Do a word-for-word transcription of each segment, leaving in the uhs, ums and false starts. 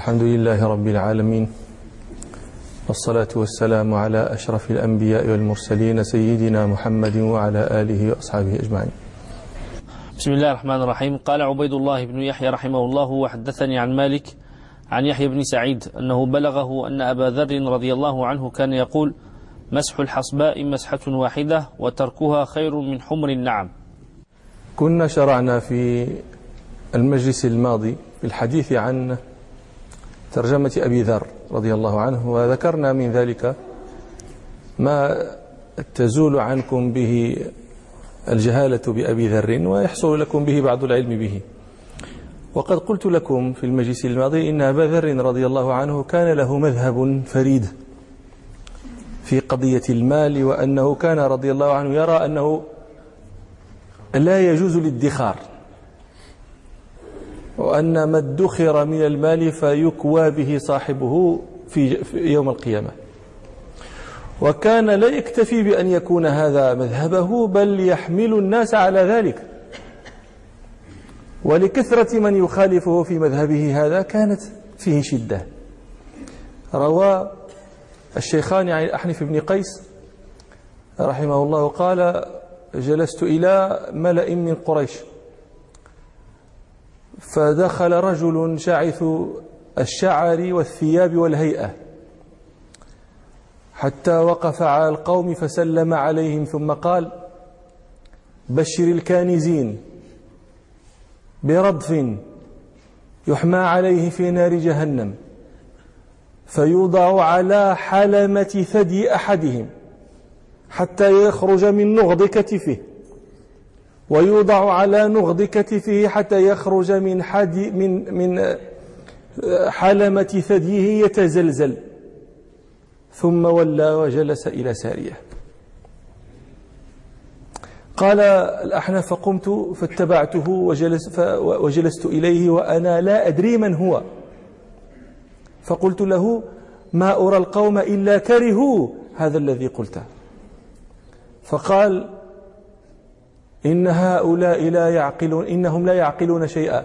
الحمد لله رب العالمين، والصلاة والسلام على أشرف الأنبياء والمرسلين سيدنا محمد وعلى آله وأصحابه أجمعين. بسم الله الرحمن الرحيم. قال عبيد الله بن يحيى رحمه الله: وحدثني عن مالك عن يحيى بن سعيد أنه بلغه أن أبا ذر رضي الله عنه كان يقول: مسح الحصباء مسحة واحدة وتركها خير من حمر النعم. كنا شرعنا في المجلس الماضي في الحديث عن ترجمة أبي ذر رضي الله عنه، وذكرنا من ذلك ما تزول عنكم به الجهالة بأبي ذر ويحصل لكم به بعض العلم به. وقد قلت لكم في المجلس الماضي إن أبا ذر رضي الله عنه كان له مذهب فريد في قضية المال، وأنه كان رضي الله عنه يرى أنه لا يجوز الادخار، وأن ما ادخر من المال فيكوى به صاحبه في يوم القيامة. وكان لا يكتفي بأن يكون هذا مذهبه، بل يحمل الناس على ذلك، ولكثرة من يخالفه في مذهبه هذا كانت فيه شدة. روى الشيخان عن الأحنف بن قيس رحمه الله قال: جلست إلى ملأ من قريش، فدخل رجل شاعث الشعر والثياب والهيئة، حتى وقف على القوم فسلم عليهم، ثم قال: بشر الكانزين برضف يحمى عليه في نار جهنم، فيوضع على حلمة ثدي أحدهم حتى يخرج من نغض كتفه، ويوضع على نغض كتفه حتى يخرج من حد من من حلمة ثديه يتزلزل، ثم ولى وجلس إلى سارية. قال الأحنف: فقمت فاتبعته وجلس وجلست إليه وأنا لا أدري من هو، فقلت له: ما أرى القوم إلا كرهوا هذا الذي قلته. فقال: إن هؤلاء لا يعقلون، إنهم لا يعقلون شيئا.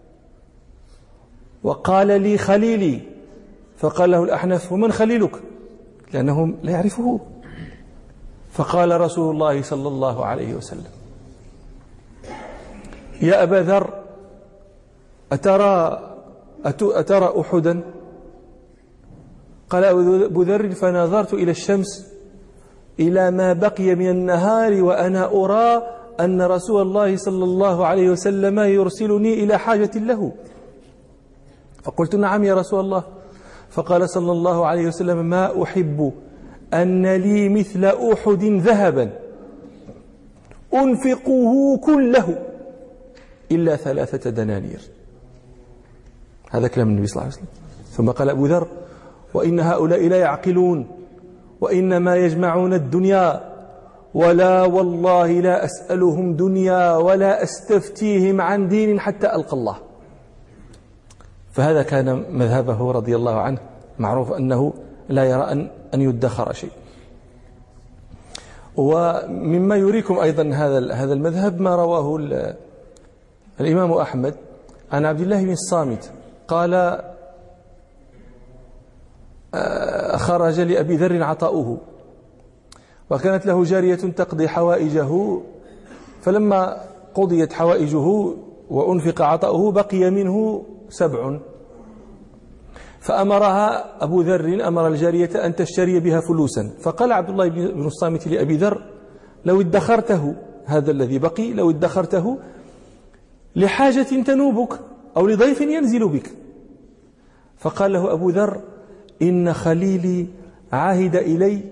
وقال لي: خليلي. فقال له الأحنف: ومن خليلك؟ لأنهم لا يعرفه. فقال رسول الله صلى الله عليه وسلم: يا أبا ذر، أترى أترى أحدا؟ قال أبو ذر: فنظرت إلى الشمس إلى ما بقي من النهار وأنا أرى أن رسول الله صلى الله عليه وسلم يرسلني إلى حاجة له. فقلت: نعم يا رسول الله. فقال صلى الله عليه وسلم: ما أحب أن لي مثل أحد ذهبا أنفقه كله إلا ثلاثة دنانير. هذا كلام النبي صلى الله عليه وسلم. ثم قال أبو ذر: وإن هؤلاء لا يعقلون، وإنما يجمعون الدنيا، ولا والله لا أسألهم دنيا ولا أستفتيهم عن دين حتى ألقى الله. فهذا كان مذهبه رضي الله عنه، معروف أنه لا يرى أن أن يدخر شيء. ومما يريكم أيضا هذا هذا المذهب ما رواه الإمام أحمد عن عبد الله بن الصامت قال: خرج لأبي ذر عطاؤه، وكانت له جارية تقضي حوائجه، فلما قضيت حوائجه وأنفق عطاؤه بقي منه سبع، فأمرها أبو ذر أمر الجارية أن تشتري بها فلوسا. فقال عبد الله بن الصامت لأبي ذر: لو ادخرته، هذا الذي بقي لو ادخرته لحاجة تنوبك أو لضيف ينزل بك. فقال له أبو ذر: إن خليلي عهد إلي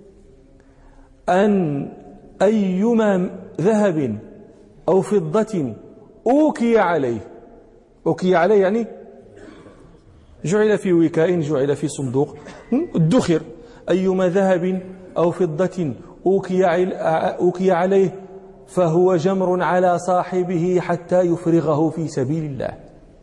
أن أيما ذهب أو فضة أوكي عليه، أوكي عليه يعني جعل في وكاء، جعل في صندوق، ادخر، أيما ذهب أو فضة أوكي عليه فهو جمر على صاحبه حتى يفرغه في سبيل الله.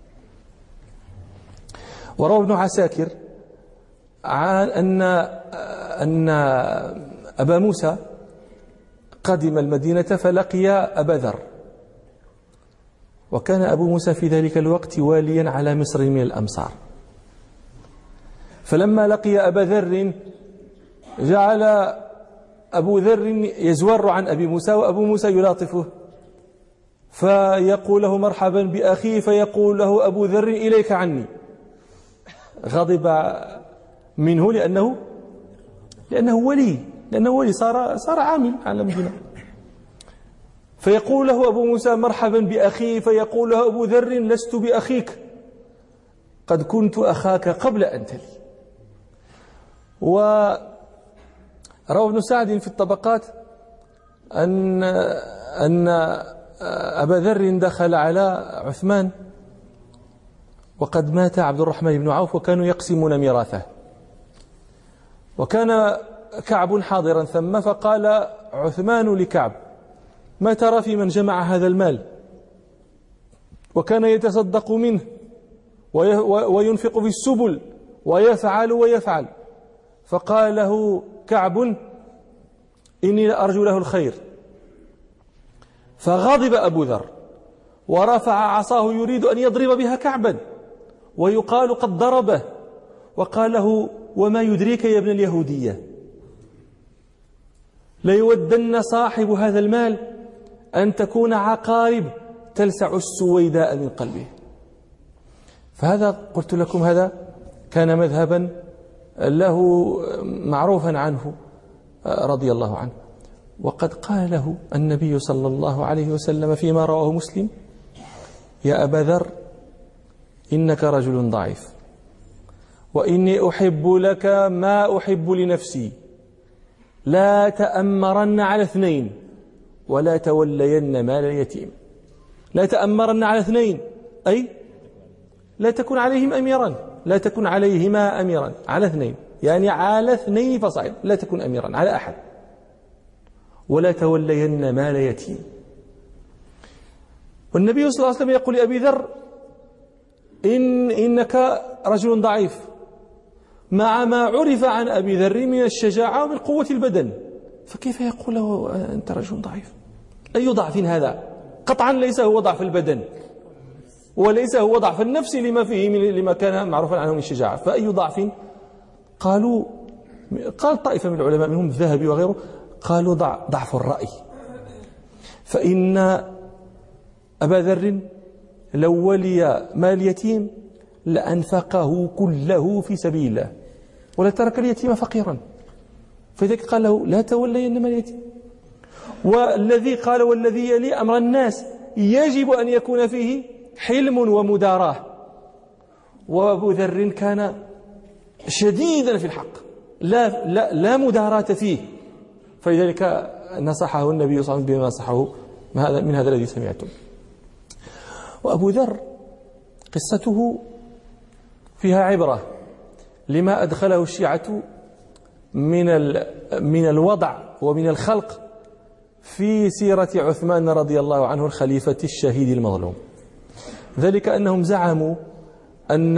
وروى ابن عساكر عن أن أن أبا موسى قدم المدينة فلقي أبا ذر، وكان أبو موسى في ذلك الوقت واليا على مصر من الأمصار، فلما لقي أبا ذر جعل أبو ذر يزور عن أبي موسى وأبو موسى يلاطفه، فيقول له مرحبا بأخي، فيقول له أبو ذر إليك عني. غضب منه لأنه لأنه ولي لأنه ولي صار صار عامل على المدينة. فيقول له أبو موسى مرحبا بأخي، فيقول له أبو ذر لست بأخيك، قد كنت أخاك قبل أن تلي. وروى ابن سعد في الطبقات أن أن أبا ذر دخل على عثمان وقد مات عبد الرحمن بن عوف وكانوا يقسمون ميراثه، وكان كعب حاضرا ثم، فقال عثمان لكعب: ما ترى في من جمع هذا المال؟ وكان يتصدق منه وينفق في السبل ويفعل ويفعل. فقال له كعب: إني لأرجو له الخير. فغضب أبو ذر ورفع عصاه يريد أن يضرب بها كعبا، ويقال قد ضربه، وقال له: وما يدريك يا ابن اليهودية، ليودن صاحب هذا المال أن تكون عقارب تلسع السويداء من قلبه. فهذا قلت لكم هذا كان مذهبا له معروفا عنه رضي الله عنه. وقد قال له النبي صلى الله عليه وسلم فيما رواه مسلم: يا أبا ذر إنك رجل ضعيف، وإني أحب لك ما أحب لنفسي، لا تأمرن على اثنين ولا تولين مال اليتيم. لا تأمرن على اثنين أي لا تكن عليهم أميرا، لا تكن عليهما أميرا، على اثنين يعني على اثنين فصاعد، لا تكن أميرا على أحد. ولا تولين مال يتيم. والنبي صلى الله عليه وسلم يقول لأبي ذر: إن إنك رجل ضعيف، مع ما عرف عن أبي ذر من الشجاعة ومن قوة البدن، فكيف يقول له أنت رجل ضعيف؟ أي ضعف هذا؟ قطعا ليس هو ضعف البدن وليس هو ضعف النفس لما فيه من لما كان معروفا عنه من الشجاعة، فأي ضعف؟ قالوا قال طائفة من العلماء منهم الذهبي وغيره قالوا ضعف الرأي، فإن أبا ذر لو ولي مال يتيم لأنفقه كله في سبيل الله ولا ترك اليتيم فقيرا، فذلك قال له: لا تولين مال اليتيم. والذي قال: والذي يلي أمر الناس يجب أن يكون فيه حلم ومداراة، وأبو ذر كان شديدا في الحق، لا, لا, لا مداراة فيه، فلذلك نصحه النبي صلى الله عليه وسلم بما نصحه من هذا الذي سمعتم. وأبو ذر قصته فيها عبرة لما أدخله الشيعة من من الوضع ومن الخلق في سيرة عثمان رضي الله عنه الخليفة الشهيد المظلوم. ذلك أنهم زعموا أن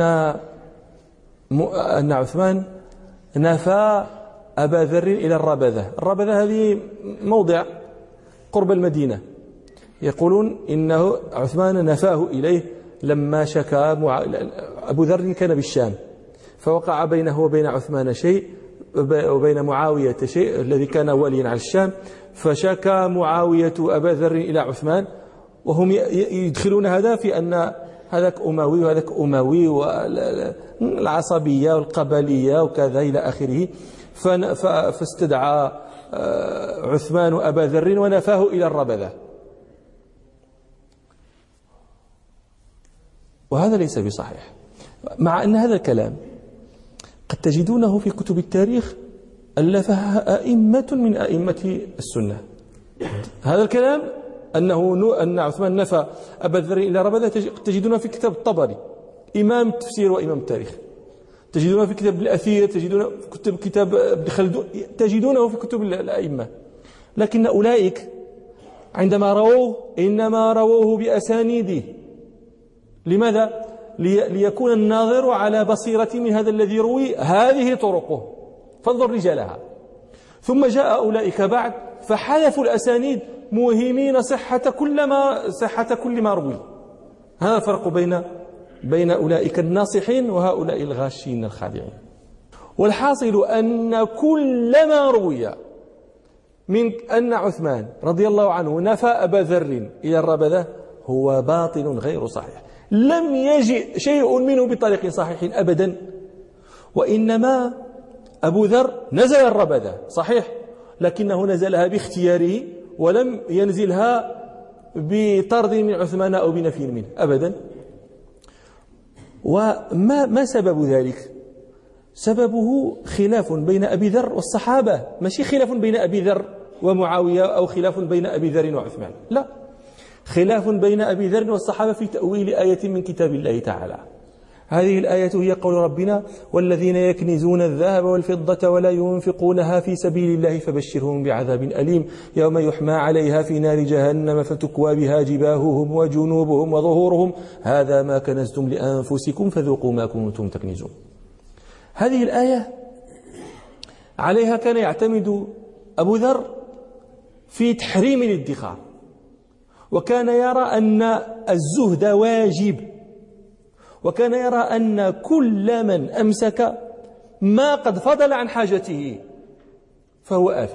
أن عثمان نفى أبا ذر إلى الربذة. الربذة هذه موضع قرب المدينة، يقولون إنه عثمان نفاه إليه لما شكى مع... أبو ذر كان بالشام، فوقع بينه وبين عثمان شيء وبين معاوية شيء الذي كان واليا على الشام، فشكى معاوية أبا ذر إلى عثمان، وهم يدخلون هذا في أن هذاك أموي وهذاك أموي والعصبية والقبلية وكذا إلى آخره. فاستدعى عثمان أبا ذر ونفاه إلى الربذة، وهذا ليس بصحيح، مع أن هذا الكلام قد تجدونه في كتب التاريخ ألفها أئمة من أئمة السنة. هذا الكلام أنه أن عثمان نفى أبا ذر إلى ربذة تجدونه في كتاب الطبري إمام التفسير وإمام التاريخ، تجدونه في كتاب الأثير، تجدونه في كتب كتاب ابن خلدون، تجدونه في كتب الأئمة. لكن أولئك عندما رووه إنما رووه بأسانيده. لماذا؟ ليكون الناظر على بصيرة من هذا الذي روي، هذه طرقه فانظر رجالها. ثم جاء أولئك بعد فحذفوا الأسانيد موهمين صحة كل ما صحة كل ما روي. هذا الفرق بين بين أولئك الناصحين وهؤلاء الغاشين الخادعين. والحاصل أن كل ما روي من أن عثمان رضي الله عنه نفى أبا ذر إلى الربذة هو باطل غير صحيح، لم يجئ شيء منه بطريق صحيح أبدا، وإنما أبو ذر نزل الربذة صحيح، لكنه نزلها باختياره ولم ينزلها بطرد من عثمان أو بنفي منه أبدا. وما ما سبب ذلك؟ سببه خلاف بين أبي ذر والصحابة، ماشي خلاف بين أبي ذر ومعاوية أو خلاف بين أبي ذر وعثمان، لا، خلاف بين أبي ذر والصحابة في تأويل آية من كتاب الله تعالى. هذه الآية هي قول ربنا: والذين يكنزون الذهب والفضة ولا ينفقونها في سبيل الله فبشرهم بعذاب أليم يوم يحمى عليها في نار جهنم فتكوى بها جباههم وجنوبهم وظهورهم هذا ما كنزتم لأنفسكم فذوقوا ما كنتم تكنزون. هذه الآية عليها كان يعتمد أبو ذر في تحريم الادخار، وكان يرى أن الزهد واجب، وكان يرى أن كل من أمسك ما قد فضل عن حاجته فهو آثم،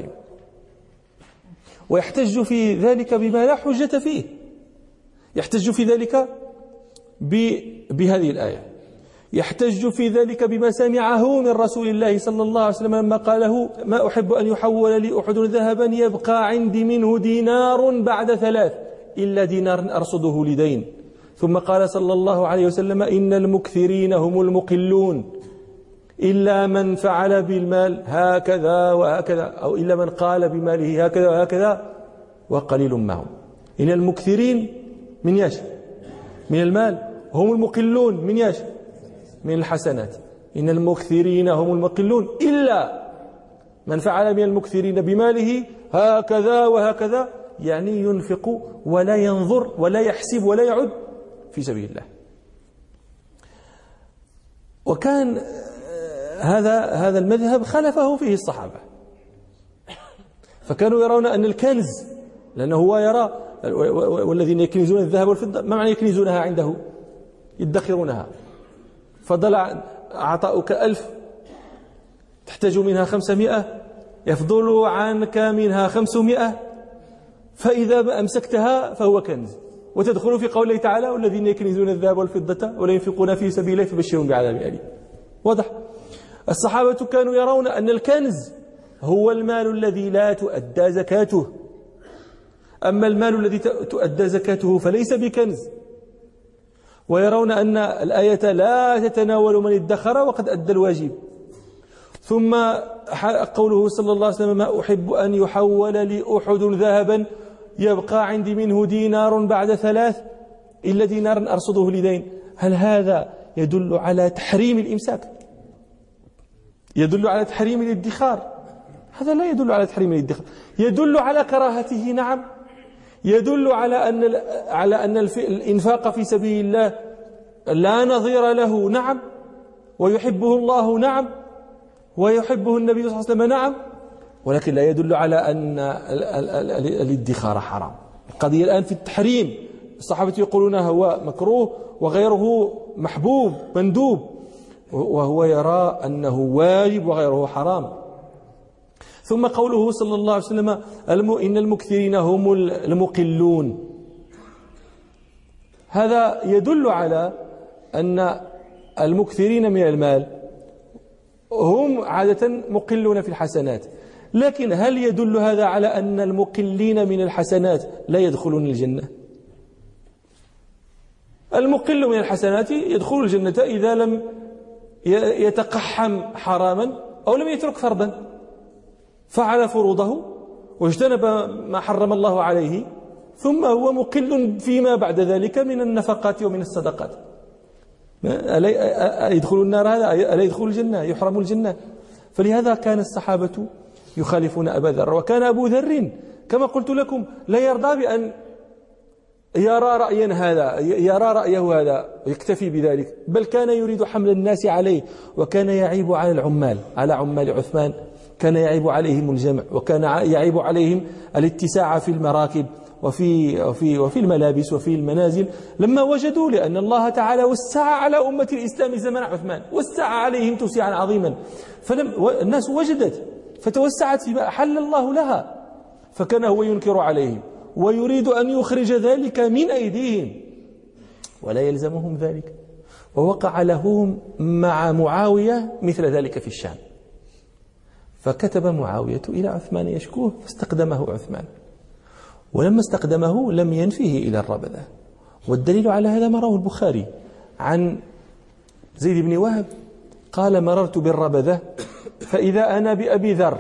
ويحتج في ذلك بما لا حجة فيه، يحتج في ذلك بهذه الآية، يحتج في ذلك بما سمعه من رسول الله صلى الله عليه وسلم لما قاله: ما أحب أن يحول لي أحد ذهبا يبقى عندي منه دينار بعد ثلاث إلا دينار أرصده لدين. ثم قال صلى الله عليه وسلم: إن المكثرين هم المقلون إلا من فعل بالمال هكذا وهكذا، أو إلا من قال بماله هكذا وهكذا وقليل ما هم. إن المكثرين من ياش من المال، هم المقلون من ياش من الحسنات. إن المكثرين هم المقلون إلا من فعل من المكثرين بماله هكذا وهكذا، يعني ينفق ولا ينظر ولا يحسب ولا يعد في سبيل الله. وكان هذا هذا المذهب خلفه فيه الصحابة، فكانوا يرون أن الكنز، لأنه هو يرى والذين يكنزون الذهب والفضة، ما معنى يكنزونها عنده؟ يدخرونها، فضل عطاؤك ألف تحتاج منها خمسمائة، يفضل عنك منها خمسمائة، فإذا أمسكتها فهو كنز. وتدخل في قوله تعالى: والذين يكنزون الذهب والفضة ولا ينفقون في سبيل الله فبشرهم بعذاب أليم. واضح؟ الصحابة كانوا يرون أن الكنز هو المال الذي لا تؤدى زكاته، أما المال الذي تؤدى زكاته فليس بكنز، ويرون أن الآية لا تتناول من ادخر وقد أدى الواجب. ثم قوله صلى الله عليه وسلم: ما أحب أن يحول لي أحد ذهبا يبقى عندي منه دينار بعد ثلاث إلا دينار أرصده لدين. هل هذا يدل على تحريم الإمساك؟ يدل على تحريم الادخار؟ هذا لا يدل على تحريم الادخار، يدل على كراهته، نعم، يدل على أن على أن الإنفاق في سبيل الله لا نظير له، نعم، ويحبه الله، نعم، ويحبه النبي صلى الله عليه وسلم، نعم، ولكن لا يدل على أن الادخار حرام. القضية الآن في التحريم، الصحابة يقولون هو مكروه وغيره محبوب مندوب، وهو يرى أنه واجب وغيره حرام. ثم قوله صلى الله عليه وسلم: إن المكثرين هم المقلون، هذا يدل على أن المكثرين من المال هم عادة مقلون في الحسنات، لكن هل يدل هذا على أن المقلين من الحسنات لا يدخلون الجنة؟ المقل من الحسنات يدخل الجنة إذا لم يتقحم حراما أو لم يترك فرضا، فعل فروضه واجتنب ما حرم الله عليه، ثم هو مقل فيما بعد ذلك من النفقات ومن الصدقات. ألا يدخل النار هذا؟ ألا يدخل الجنة؟ يحرم الجنة. فلهذا كان الصحابة يخالفون أبا ذر، وكان أبو ذر كما قلت لكم لا يرضى بأن يرى رأيا هذا يرى رأيه هذا يكتفي بذلك، بل كان يريد حمل الناس عليه، وكان يعيب على العمال، على عمال عثمان، كان يعيب عليهم الجمع، وكان يعيب عليهم الاتساع في المراكب، وفي, وفي, وفي الملابس وفي المنازل، لما وجدوا لأن الله تعالى وسع على أمة الإسلام زمن عثمان، وسع عليهم توسعا عظيما، فالناس وجدت فتوسعت فيما أحل الله لها، فكان هو ينكر عليهم ويريد أن يخرج ذلك من أيديهم ولا يلزمهم ذلك. ووقع لهم مع معاوية مثل ذلك في الشام، فكتب معاوية إلى عثمان يشكوه فاستقدمه عثمان، ولما استقدمه لم ينفيه إلى الربذة. والدليل على هذا ما رواه البخاري عن زيد بن وهب قال مررت بالربذة فإذا أنا بأبي ذر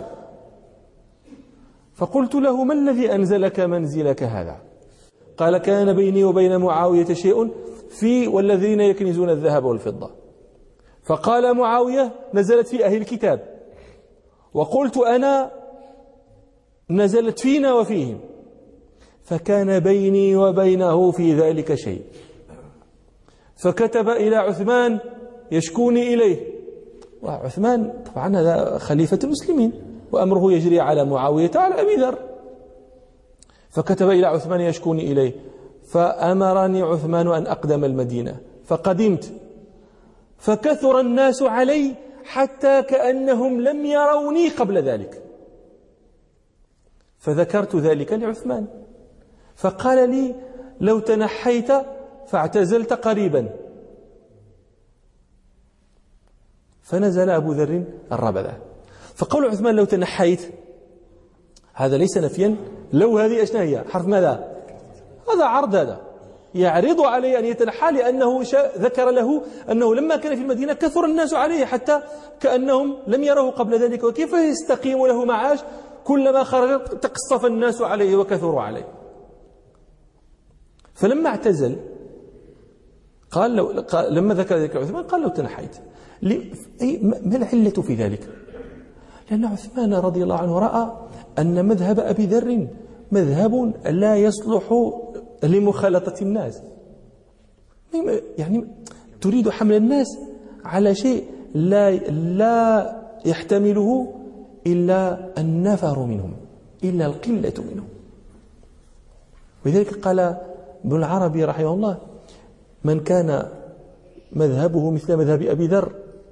فقلت له ما الذي أنزلك منزلك هذا؟ قال كان بيني وبين معاوية شيء في والذين يكنزون الذهب والفضة. فقال معاوية نزلت في أهل الكتاب، وقلت أنا نزلت فينا وفيهم، فكان بيني وبينه في ذلك شيء، فكتب إلى عثمان يشكوني إليه، وعثمان طبعا هذا خليفة المسلمين وأمره يجري على معاوية على أبي ذر، فكتب إلى عثمان يشكوني إليه، فأمرني عثمان أن أقدم المدينة، فقدمت فكثر الناس علي حتى كأنهم لم يروني قبل ذلك، فذكرت ذلك لعثمان فقال لي لو تنحيت فاعتزلت قريبا، فنزل أبو ذر الربذة. فقول عثمان لو تنحيت هذا ليس نفيا، لو هذه أشنا هي حرف ماذا؟ هذا عرض، هذا يعرض عليه أن يتنحى، لأنه ذكر له أنه لما كان في المدينة كثر الناس عليه حتى كأنهم لم يروه قبل ذلك، وكيف يستقيم له معاش كلما خرج تقصف الناس عليه وكثروا عليه. فلما اعتزل قال لو قال لما ذكر ذلك عثمان قال لو تنحيت، ما العلة في ذلك؟ لأن عثمان رضي الله عنه رأى أن مذهب أبي ذر مذهب لا يصلح لمخالطة الناس، يعني تريد حمل الناس على شيء لا لا يحتمله إلا النفر منهم، إلا القلة منهم. ولذلك قال ابن العربي رحمه الله من كان مذهبه مثل مذهب أبي ذر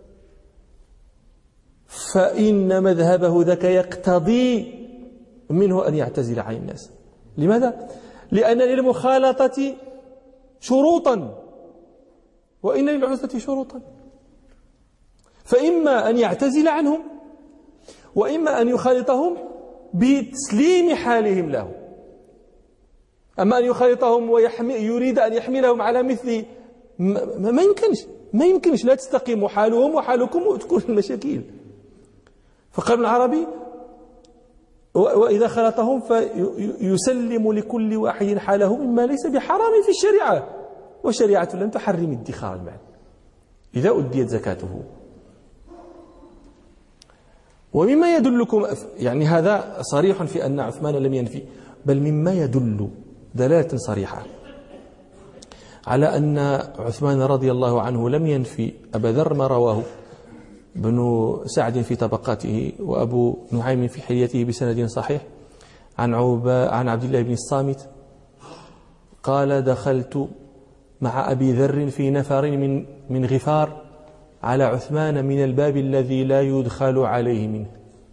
فإن مذهبه ذاك يقتضي منه أن يعتزل عن الناس. لماذا؟ لأن للمخالطة شروطا وإن للعزلة شروطا، فإما أن يعتزل عنهم وإما أن يخالطهم بتسليم حالهم له. أما أن يخالطهم ويريد أن يحملهم على مثل ما, ما يمكنش ما يمكنش لا تستقيم حالهم وحالكم وتكون المشاكل. فقال ابن العربي وإذا خلطهم فيسلم لكل واحد حاله مما ليس بحرام في الشريعة، والشريعة لم تحرم ادخار المال إذا أديت زكاته. ومما يدلكم يعني هذا صريح في أن عثمان لم ينفي، بل مما يدل دلالة صريحة على أن عثمان رضي الله عنه لم ينفي أبا ذر ما رواه ابن سعد في طبقاته وأبو نعيم في حليته بسند صحيح عن عوبة عن عبد الله بن الصامت قال دخلت مع أبي ذر في نفر من من غفار على عثمان من الباب الذي لا يدخل عليه منه.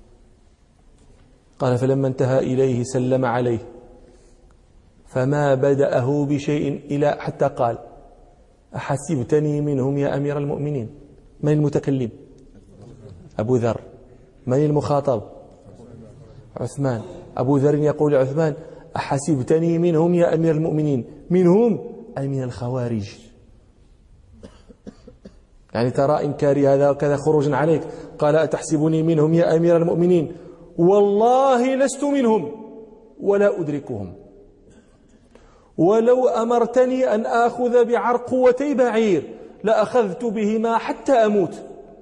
قال فلما انتهى إليه سلم عليه فما بدأه بشيء إلى حتى قال أحسبتني منهم يا أمير المؤمنين؟ من المتكلم؟ أبو ذر. من المخاطب؟ عثمان. أبو ذر يقول لعثمان أحسبتني منهم يا أمير المؤمنين؟ منهم أي من الخوارج، يعني ترى إنكاري هذا وكذا خروجا عليك. قال أتحسبني منهم يا أمير المؤمنين؟ والله لست منهم ولا أدركهم، ولو أمرتني أن آخذ بعرقوتي بعير لأخذت بهما حتى أموت.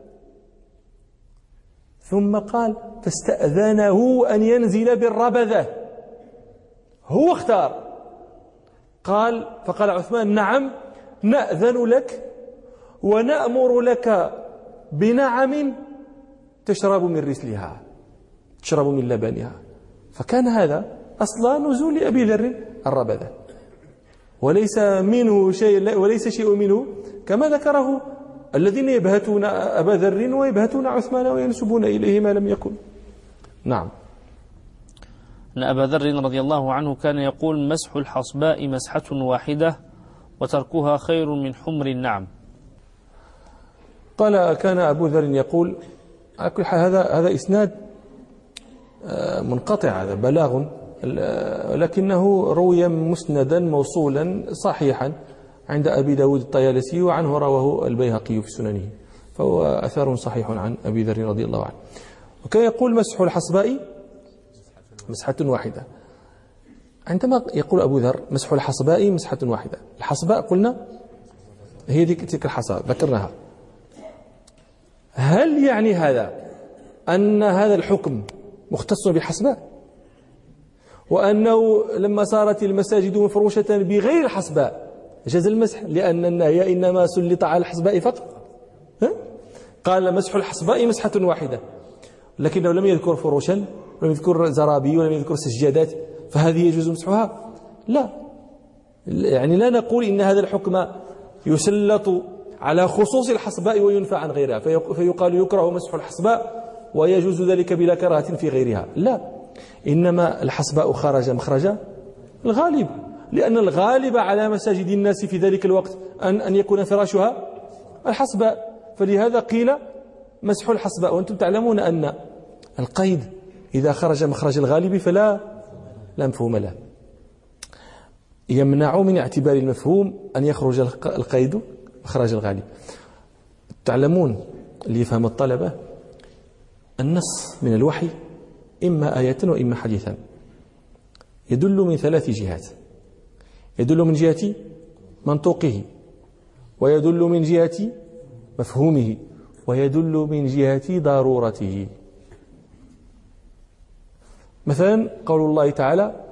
ثم قال فاستأذنه أن ينزل بالربذة، هو اختار. قال فقال عثمان نعم نأذن لك ونأمر لك بنعم تشرب من رسلها، تشرب من لبنها. فكان هذا أصلا نزول أبي ذر الربذة، وليس منه شيء وليس شيء منه كما ذكره الذين يبهتون أبا ذر ويبهتون عثمان وينسبون إليه ما لم يكن. نعم. أن أبا ذر رضي الله عنه كان يقول مسح الحصباء مسحة واحدة وتركها خير من حمر النعم. قال كان أبو ذر يقول، هذا هذا إسناد منقطع، هذا بلاغ، لكنه روي مسندا موصولا صحيحا عند أبي داود الطيالسي، وعنه رواه البيهقي في سننه، فهو أثر صحيح عن أبي ذر رضي الله عنه. وكان يقول مسح الحصباء مسحة واحدة. عندما يقول أبو ذر مسح الحصباء مسحة واحدة، الحصباء قلنا هي تلك الحصى ذكرناها، هل يعني هذا أن هذا الحكم مختص بالحصباء، وأنه لما صارت المساجد مفروشة بغير الحصباء جاز المسح لأن النهي إنما سلط على الحصباء فقط؟ قال مسح الحصباء مسحة واحدة، لكنه لم يذكر فروشا ولم يذكر زرابي ولم يذكر سجادات، فهذه يجوز مسحها؟ لا، يعني لا نقول إن هذا الحكم يسلط على خصوص الحصباء وينفى عن غيرها فيقال يكره مسح الحصباء ويجوز ذلك بلا كراهة في غيرها، لا، إنما الحصباء خرج مخرج الغالب، لأن الغالب على مساجد الناس في ذلك الوقت أن أن يكون فراشها الحصباء، فلهذا قيل مسح الحصباء. وأنتم تعلمون أن القيد إذا خرج مخرج الغالب فلا لا مفهوم له، يمنع من اعتبار المفهوم أن يخرج القيد مخرج الغالب. تعلمون اللي يفهم الطلبة النص من الوحي إما آية وإما حديثا، يدل من ثلاث جهات، يدل من جهة منطوقه، ويدل من جهة مفهومه، ويدل من جهة ضرورته. مثلا قول الله تعالى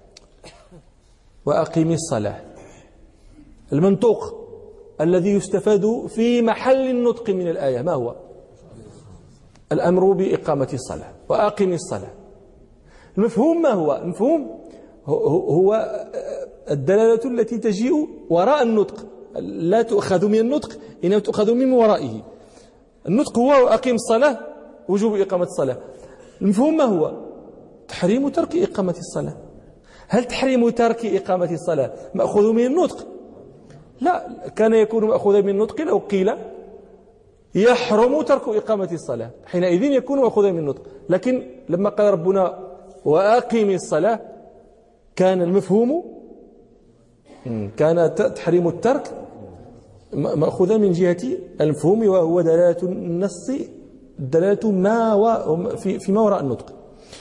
وأقم الصلاة، المنطوق الذي يستفاد في محل النطق من الآية ما هو؟ الأمر بإقامة الصلاة، وأقم الصلاة. المفهوم ما هو؟ المفهوم هو الدلالة التي تجيء وراء النطق، لا تؤخذ من النطق إنما تؤخذ من ورائه. النطق هو أقم الصلاة، وجوب إقامة الصلاة. المفهوم ما هو؟ تحريم ترك إقامة الصلاة. هل تحريم ترك إقامة الصلاة مأخوذ من النطق؟ لا، كان يكون مأخوذا من النطق لو قيل يحرم ترك إقامة الصلاة، حينئذ يكون مأخوذا من النطق، لكن لما قال ربنا وأقم الصلاة كان المفهوم كان تحريم الترك مأخوذا من جهة المفهوم، وهو دلالة النص، دلالة ما في فيما وراء النطق.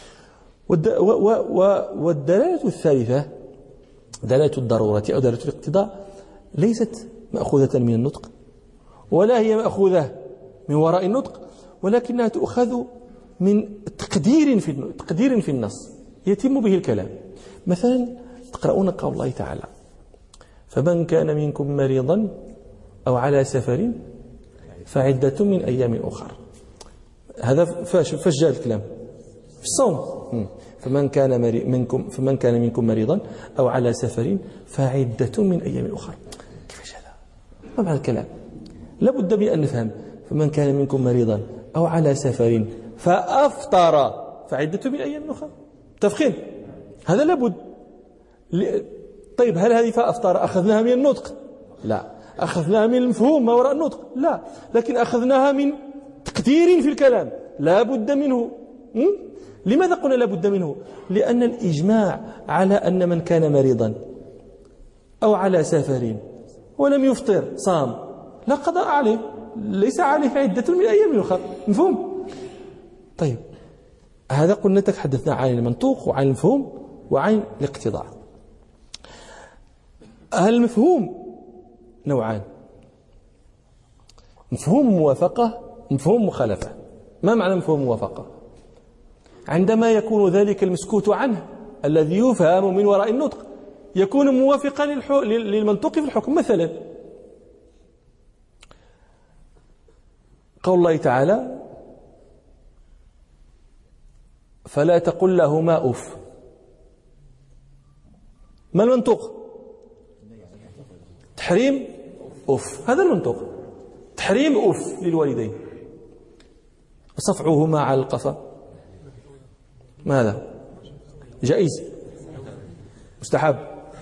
والدلالة الثالثة دلالة الضرورة أو دلالة الاقتضاء ليست مأخوذة من النطق ولا هي مأخوذة من وراء النطق، ولكنها تؤخذ من تقدير في تقدير في النص يتم به الكلام. مثلا تقرؤون قول الله تعالى فمن كان منكم مريضا أو على سفر فعدة من أيام أخر. هذا فاش فاش جاء الكلام؟ في الصوم. فمن كان منكم فمن كان منكم مريضا أو على سفر فعدة من أيام أخر. كيفاش هذا؟ ما معنى الكلام؟ لابد بأن نفهم. فمن كان منكم مريضا أو على سفر فأفطر فعدة من أيام أخر. تفخيم هذا لابد. طيب هل هذه فأفطر أخذناها من النطق؟ لا. أخذناها من المفهوم ما وراء النطق؟ لا. لكن أخذناها من تقدير في الكلام لا بد منه. م? لماذا قلنا لا بد منه؟ لأن الإجماع على أن من كان مريضا أو على سفر ولم يفطر صام لا قضاء عليه، ليس عليه عدة من أيام أخرى. مفهوم؟ طيب هذا قلنا تحدثنا عن المنطوق وعن المفهوم وعن الاقتضاء. المفهوم نوعان: مفهوم موافقة ومفهوم مخالفة. ما معنى مفهوم موافقة؟ عندما يكون ذلك المسكوت عنه الذي يفهم من وراء النطق يكون موافقا للمنطوق في الحكم. مثلا قول الله تعالى فلا تقل لهما أف. ما المنطوق؟ تحريم أف، هذا المنطوق. تحريم أف للوالدين. صفعهما على القفا ماذا؟ جائز مستحب.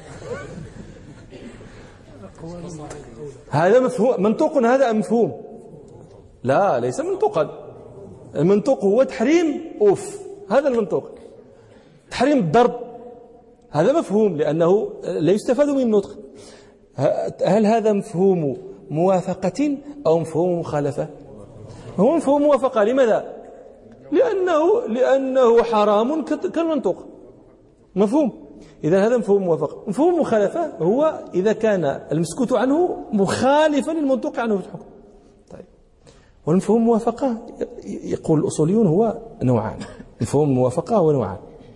هذا مفهوم منطوق، هذا مفهوم؟ لا، ليس منطوقا. المنطوق هو تحريم أف، هذا المنطوق. تحريم الضرب هذا مفهوم لأنه لا يستفاد من النطق. هل هذا مفهوم موافقة أو مفهوم مخالفة؟ هو مفهوم موافقة. لماذا؟ لأنه لأنه حرام كالمنطوق، مفهوم. إذا هذا مفهوم موافقة. مفهوم مخالفة هو إذا كان المسكوت عنه مخالفا للمنطوق عنه في الحكم. طيب، والمفهوم موافقة يقول الأصوليون هو نوعان. مفهوم الموافقة هو نوعان.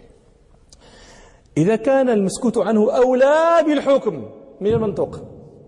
إذا كان المسكوت عنه أولى بالحكم من المنطوق،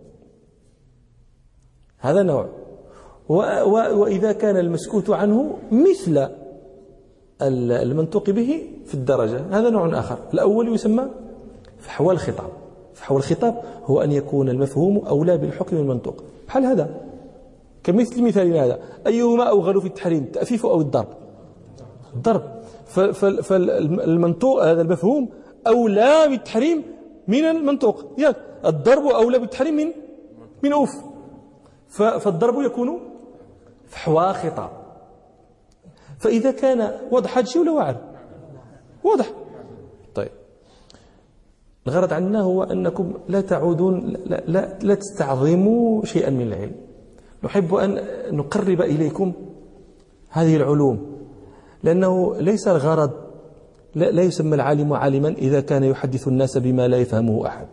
هذا نوع. وإذا كان المسكوت عنه مثل المنطوق به في الدرجة، هذا نوع آخر. الأول يسمى فحوى الخطاب. فحوى الخطاب هو أن يكون المفهوم أولى بالحكم من المنطوق. بحال هذا، كمثل مثالنا هذا: أيهما أوغل في التحريم، التأفيف أو الضرب؟ الضرب. فالمنطوق هذا المفهوم أولى بالتحريم من المنطوق. يعني الضرب أولى بالتحريم من من أوف. فالضرب يكون فحوى خطاب. فإذا كان واضح هذا الشيء ولا واعر؟ واضح. طيب، الغرض عندنا هو أنكم لا تعودون لا, لا, لا تستعظموا شيئا من العلم. نحب أن نقرب إليكم هذه العلوم، لأنه ليس الغرض، لا, لا يسمى العالم عالما إذا كان يحدث الناس بما لا يفهمه أحد.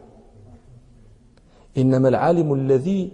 إنما العالم الذي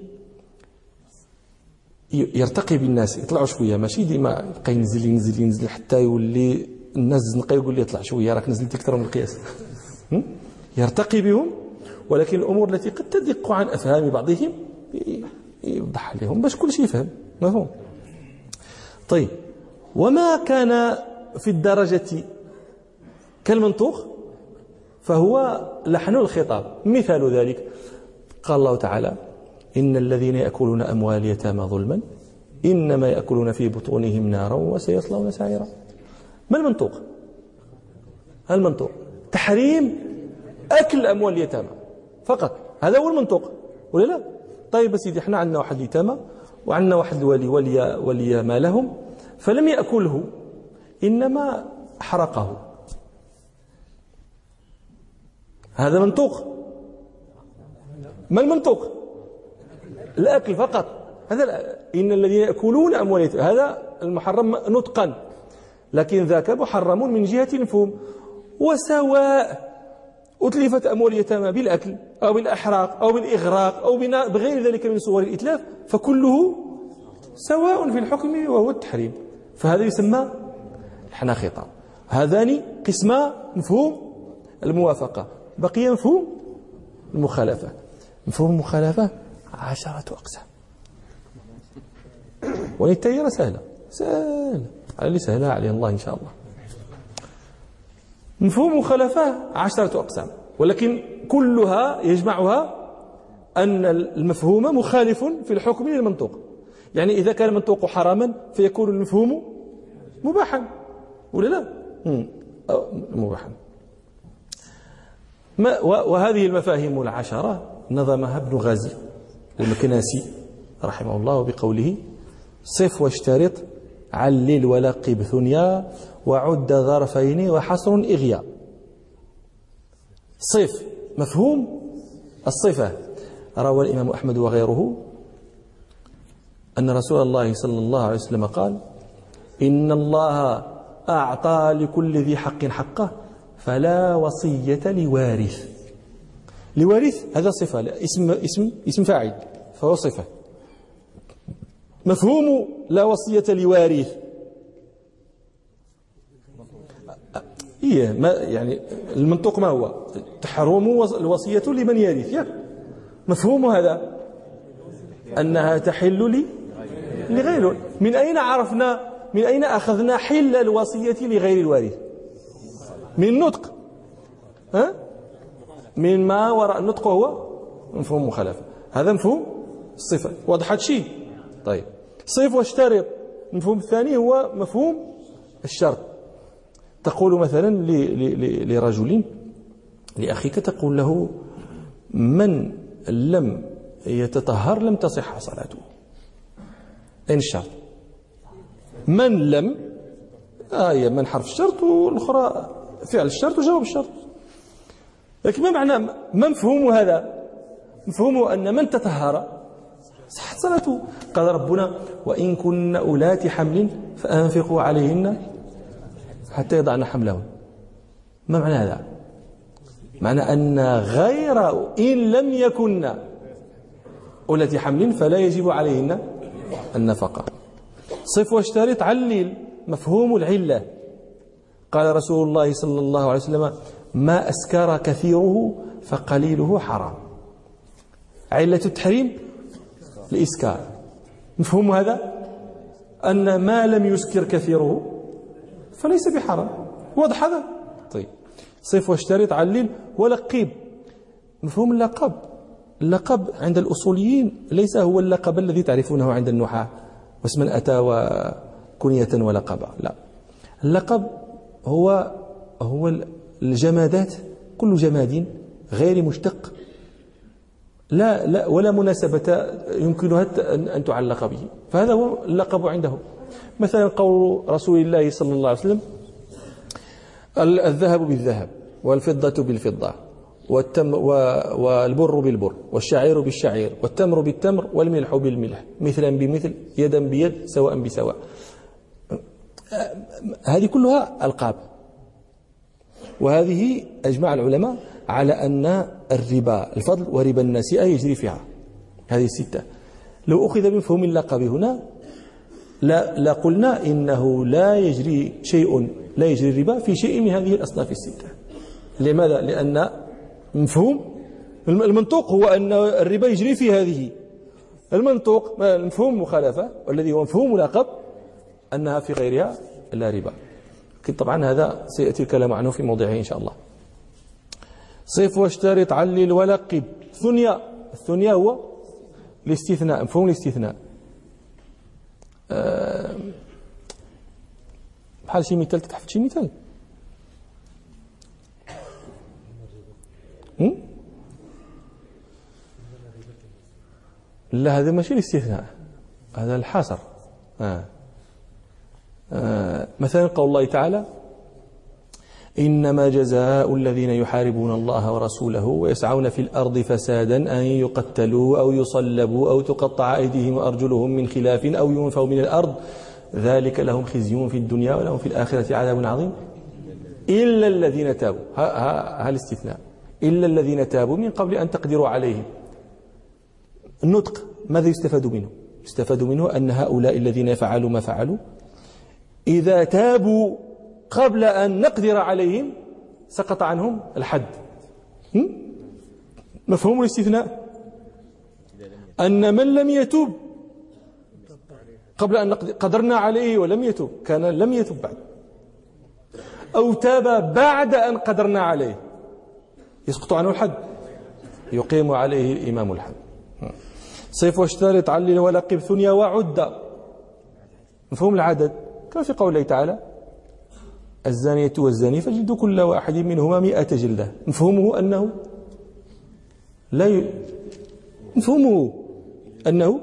يرتقي بالناس، يطلعوا شويه، ماشي ديما يبقى ينزل ينزل ينزل حتى يولي الناس زنقه يقول لي اطلع شويه راك نزلت اكثر من القياس. يرتقي بهم، ولكن الامور التي قد تدق عن افهام بعضهم يوضح لهم باش كل شيء يفهم. مفهوم؟ طيب، وما كان في الدرجه كالمنطوق فهو لحن الخطاب. مثال ذلك قال الله تعالى: إن الذين يأكلون أموال اليتامى ظلما إنما يأكلون في بطونهم نارا وسيصلون سعيرا. ما المنطوق؟ المنطوق تحريم أكل أموال اليتامى فقط، هذا هو المنطوق ولا لا؟ طيب سيدي، احنا عندنا واحد اليتامى وعندنا واحد الولي ولي, ولي مالهم، فلم يأكله إنما حرقه، هذا منطوق. ما المنطوق؟ الأكل فقط. هذا إن الذين يأكلون أموال اليتامى هذا المحرم نطقا، لكن ذاك محرم من جهة المفهوم. وسواء أتلفت أموال اليتامى بالأكل أو بالأحراق أو بالإغراق أو بغير ذلك من صور الإتلاف، فكله سواء في الحكم وهو التحريم. فهذا يسمى لحن خطاب. هذان قسما مفهوم الموافقة. بقي مفهوم المخالفة. مفهوم المخالفة عشرة أقسام، والتيرة سهلة سهلة على اللي سهلها عليه الله إن شاء الله. مفهوم المخالفة عشرة أقسام، ولكن كلها يجمعها أن المفهوم مخالف في الحكم للمنطوق. يعني إذا كان المنطوق حراما فيكون المفهوم مباحا ولا لا؟ مباحا. وهذه المفاهيم العشرة نظمها ابن غازي المكناسي رحمه الله بقوله: صف واشترط علل ولقب ثنيا وعد ظرفين وحصر إغياء. صف مفهوم الصفة. روى الإمام أحمد وغيره أن رسول الله صلى الله عليه وسلم قال: إن الله أعطى لكل ذي حق حقه فلا وصية لوارث. لوارث هذا صفة، اسم اسم اسم فاعل فهو صفة. مفهوم لا وصية لوارث إيه ما يعني المنطوق ما هو؟ تحرم الوصية لمن يرث. يا مفهوم هذا أنها تحل لي لغيره. من أين عرفنا، من أين أخذنا حل الوصية لغير الوارث؟ من النطق. ها؟ من ما وراء النطق هو مفهوم مخالفة. هذا مفهوم الصفة. واضح هذا الشيء؟ طيب صف واشترط. المفهوم الثاني هو مفهوم الشرط. تقول مثلا لرجل لأخيك، تقول له من لم يتطهر لم تصح صلاته. أين الشرط؟ من لم آية من حرف الشرط، والأخرى فعل الشرط وجواب الشرط. لكن ما معنى ما مفهوم هذا؟ مفهومه أن من تطهر صحت صلاته. قال ربنا وإن كن أولات حمل فأنفقوا عليهن حتى يضعن حملهن. ما معنى هذا؟ معنى أن غير إن لم يكن أولات حمل فلا يجب عليهن النفقة. صف واشترط علل. مفهوم العلة. قال رسول الله صلى الله عليه وسلم ما أسكر كثيره فقليله حرام. علة التحريم الإسكار. مفهوم هذا أن ما لم يسكر كثيره فليس بحرام. واضح هذا؟ طيب صف واشترط علل ولقب. مفهوم اللقب. اللقب عند الأصوليين ليس هو اللقب الذي تعرفونه عند النحاة واسما أتى وكنية ولقبا. لا، اللقب هو هو الجمادات، كل جماد غير مشتق لا لا ولا مناسبة يمكنها أن تعلق به، فهذا هو اللقب عندهم. مثلا قول رسول الله صلى الله عليه وسلم الذهب بالذهب والفضة بالفضة والتم والبر بالبر والشعير بالشعير والتمر بالتمر والملح بالملح مثلا بمثل يدا بيد سواء بسواء. هذه كلها ألقاب، وهذه أجمع العلماء على أن الربا الفضل وربا النسيئة يجري فيها هذه الستة. لو أخذ بمفهوم اللقب هنا لا, لا قلنا إنه لا يجري شيء لا يجري الربا في شيء من هذه الأصناف الستة. لماذا؟ لأن مفهوم المنطوق هو أن الربا يجري في هذه. المنطوق مفهوم المخالفة والذي هو مفهوم اللقب أنها في غيرها لا ربا. لكن طبعا هذا سيأتي الكلام عنه في موضعه إن شاء الله. صف واشترط علل ولقب. ثنيا. الثنيا هو الاستثناء، مفهوم الاستثناء. أه بحال شي مثال، تتحفظ شي مثال؟ لا، هذا ماشي الاستثناء، هذا الحصر. آه. آه. مثلا قول الله تعالى إنما جزاء الذين يحاربون الله ورسوله ويسعون في الأرض فسادا أن يقتلوا أو يصلبوا أو تقطع أيديهم وأرجلهم من خلاف أو ينفوا من الأرض ذلك لهم خزي في الدنيا ولهم في الآخرة عذاب عظيم إلا الذين تابوا. ها الاستثناء، إلا الذين تابوا من قبل أن تقدروا عليهم. النطق ماذا يستفاد منه؟ يستفاد منه أن هؤلاء الذين فعلوا ما فعلوا إذا تابوا قبل أن نقدر عليهم سقط عنهم الحد. مفهوم الاستثناء أن من لم يتوب قبل أن قدرنا عليه ولم يتوب كان لم يتوب بعد، أو تاب بعد أن قدرنا عليه يسقط عنه الحد، يقيم عليه الإمام الحد. صف واشترط علل ولقب ثنيا وعد. مفهوم العدد كما في قوله تعالى الزانية والزاني فجلدوا كل واحد منهما مئة جلدة. مفهومه أنه لا ي... مفهومه أنه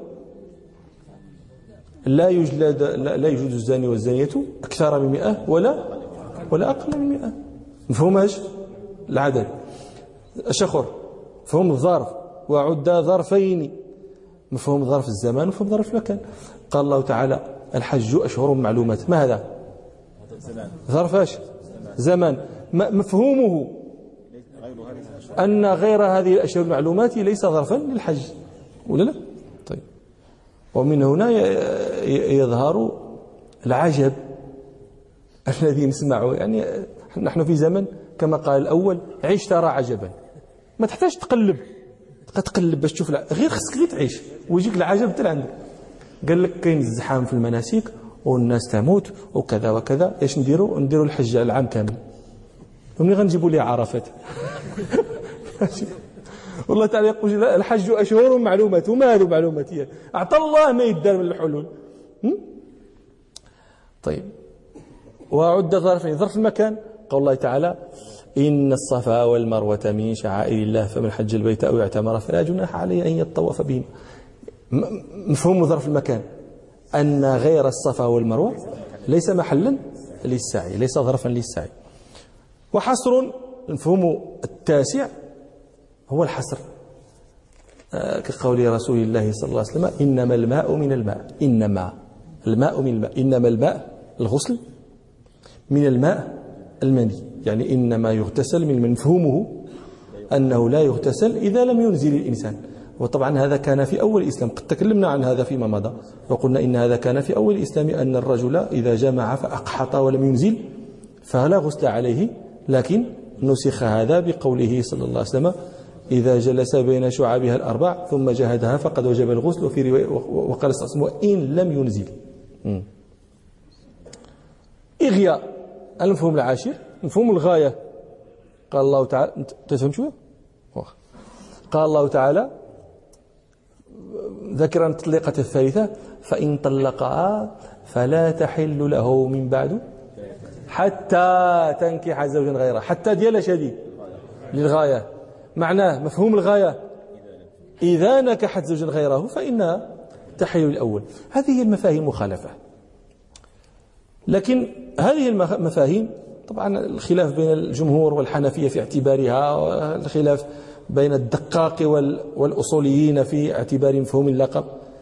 لا يجلد لا يجلد الزاني والزانية أكثر من مئة ولا ولا أقل من مئة. مفهوم ايش؟ العدد. الشخر مفهوم الظرف وعد ظرفين، مفهوم ظرف الزمان ومفهوم ظرف المكان. قال الله تعالى الحج أشهر معلومات. ما هذا؟ ظرف ايش؟ زمان. مفهومه أن غير هذه الأشهر المعلومات ليس ظرفا للحج ولا لا؟ طيب. ومن هنا يظهر العجب الذي نسمعه. يعني نحن في زمن كما قال الأول عيش ترى عجبا، ما تحتاج تقلب تقلب باش تشوف، غير خصك غير تعيش ويجيك العجب حتى لعندك. قال لك كاين الزحام في المناسك والناس تموت وكذا وكذا، ايش نديروا؟ نديروا الحج العام كامل، ومنين غنجيبوا ليه عرفات؟ والله تعالى يقول الحج أشهر معلومات، وما هذه معلومات هي أعطى الله ما يدار من الحلول. طيب، وعد ظرفين، ظرف المكان قول الله تعالى إن الصفا والمروة من شعائر الله فمن حج البيت أو اعتمر فلا جناح عليه أن يطوف بهم. مفهوم ظرف المكان أن غير الصفا والمروة ليس محلا للسعي، ليس ظرفا للسعي. وحصر المفهوم التاسع هو الحصر آه كقول رسول الله صلى الله عليه وسلم إنما الماء من الماء، إنما الماء من الماء، إنما الماء الغسل من الماء المني، يعني إنما يغتسل من مفهومه أنه لا يغتسل إذا لم ينزل الإنسان. وطبعا هذا كان في أول الإسلام، قد تكلمنا عن هذا فيما مضى وقلنا إن هذا كان في أول الإسلام، أن الرجل إذا جمع فأقحط ولم ينزل فلا غسل عليه، لكن نسخ هذا بقوله صلى الله عليه وسلم إذا جلس بين شعابها الأربع ثم جهدها فقد وجب الغسل. وفي رواية وقال صلى الله عليه وسلم إن لم ينزل. إغياء المفهوم العاشر مفهوم الغاية. قال الله تعالى، تفهم شوية؟ قال الله تعالى ذكرا التطليقة الثالثة فإن طلقها فلا تحل له من بعد حتى تنكح زوجا غيره. حتى ديال شديد للغاية، معناه مفهوم الغاية إذا نكحت زوجا غيره فإنها تحل الأول. هذه هي المفاهيم المخالفة، لكن هذه المفاهيم طبعا الخلاف بين الجمهور والحنفية في اعتبارها، والخلاف بين الدقاق والأصوليين في اعتبار مفهوم اللقب.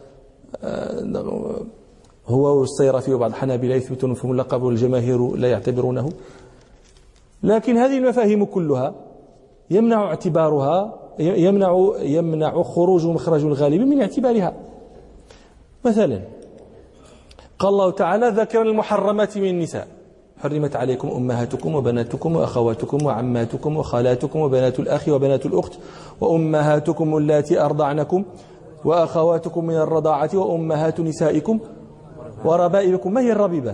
هو والصيرفي وبعض الحنابلة يثبتون مفهوم اللقب والجماهير لا يعتبرونه. لكن هذه المفاهيم كلها يمنع اعتبارها، يمنع يمنع خروج مخرج الغالب من اعتبارها. مثلا قال الله تعالى ذكر المحرمات من النساء حرمت عليكم أمهاتكم وبناتكم وأخواتكم وعماتكم وخالاتكم وبنات الأخ وبنات الأخت وأمهاتكم اللاتي أرضعنكم وأخواتكم من الرضاعة وأمهات نسائكم وربائبكم. ما هي الربيبة؟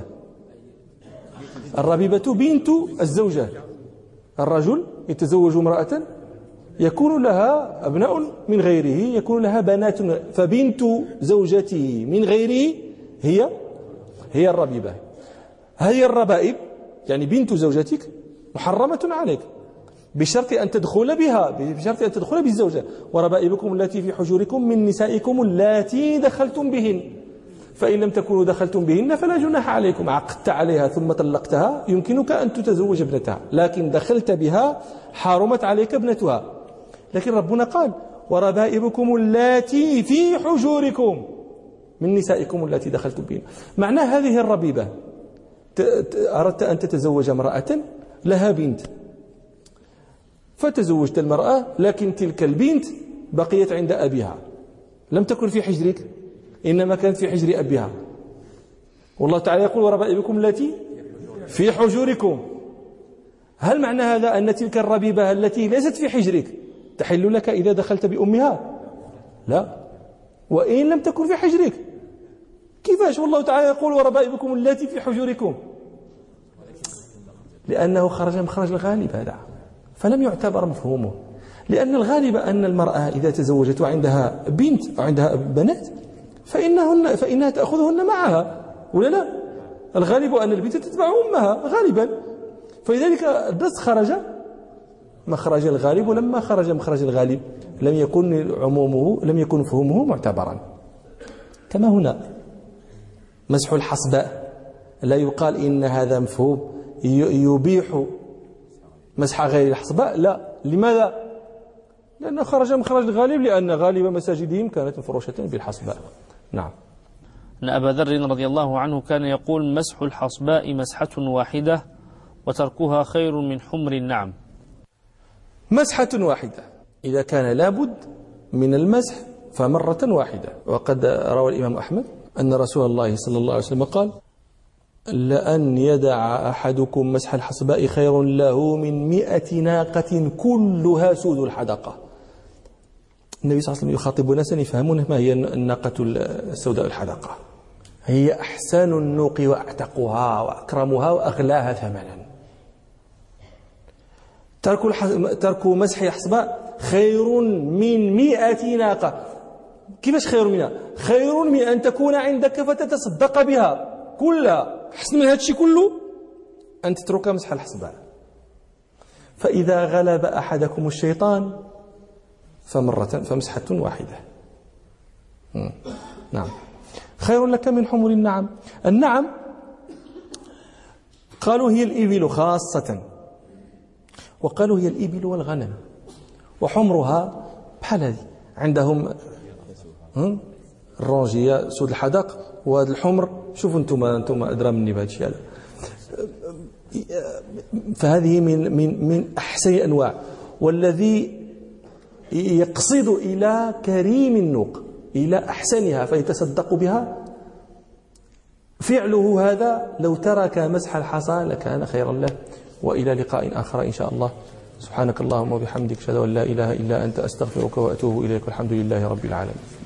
الربيبة بنت الزوجة. الرجل يتزوج امرأة يكون لها أبناء من غيره، يكون لها بنات، فبنت زوجته من غيره هي هي الربيبة. هي الربائب يعني بنت زوجتك محرمة عليك بشرط أن تدخل بها، بشرط أن تدخل بالزوجة. وربائبكم التي في حجوركم من نسائكم اللاتي دخلتم بهن فإن لم تكونوا دخلتم بهن فلا جناح عليكم. عقدت عليها ثم طلقتها يمكنك أن تتزوج ابنتها، لكن دخلت بها حرمت عليك ابنتها. لكن ربنا قال وربائبكم اللاتي في حجوركم من نسائكم التي دخلتم بهن. معنى هذه الربيبة أردت أن تتزوج امرأة لها بنت، فتزوجت المرأة لكن تلك البنت بقيت عند أبيها، لم تكن في حجرك إنما كانت في حجر أبيها. والله تعالى يقول وربائبكم التي في حجوركم. هل معنى هذا أن تلك الربيبة التي ليست في حجرك تحل لك إذا دخلت بأمها؟ لا، وإن لم تكن في حجرك. كيفاش والله تعالى يقول وربائبكم التي في حجوركم؟ لأنه خرج مخرج الغالب هذا، فلم يعتبر مفهومه. لأن الغالب أن المرأة إذا تزوجت وعندها بنت أو عندها بنات فإنهن فإنها تأخذهن معها، ولا لا؟ الغالب أن البنت تتبع أمها غالبا، فلذلك النص خرج مخرج الغالب، ولما خرج مخرج الغالب لم يكن عمومه لم يكن مفهومه معتبرا. كما هنا مسح الحصباء لا يقال إن هذا مفهوم يبيح مسح غير الحصباء، لا. لماذا؟ لأنه خرج مخرج الغالب، لأن غالب مساجدهم كانت مفروشة بالحصباء. نعم. أن أبا ذر رضي الله عنه كان يقول مسح الحصباء مسحة واحدة وتركها خير من حمر النعم. مسحة واحدة إذا كان لابد من المسح فمرة واحدة. وقد روى الإمام أحمد أن رسول الله صلى الله عليه وسلم قال لأن يدع أحدكم مسح الحصباء خير له من مئة ناقة كلها سود الحدقة. النبي صلى الله عليه وسلم يخاطب ناسا يفهمون ما هي الناقة السوداء الحدقة. هي أحسن النوق وأعتقها وأكرمها وأغلاها ثمنا. ترك ترك مسح الحصباء خير من مئة ناقة. كيفاش خير منها؟ خير من أن تكون عندك فتتصدق بها كلها. حسن من هذا الشيء كله أن تترك مسح الحصباء. فإذا غلب أحدكم الشيطان فمرة فمسحة واحدة. نعم. خير لك من حمر النعم. النعم قالوا هي الإبل خاصة، وقالوا هي الإبل والغنم، وحمرها بحال هذه عندهم الرونجية سود الحدق، وهذا الحمر شوفوا انتم انتم ادرى مني بهذا الشيء هذا. فهذه من من من احسن الانواع، والذي يقصد الى كريم النوق، الى احسنها فيتصدق بها، فعله هذا لو ترك مسح الحصى لكان خيرا له. والى لقاء اخر ان شاء الله. سبحانك اللهم وبحمدك اشهد ان لا اله الا انت استغفرك واتوب اليك، والحمد لله رب العالمين.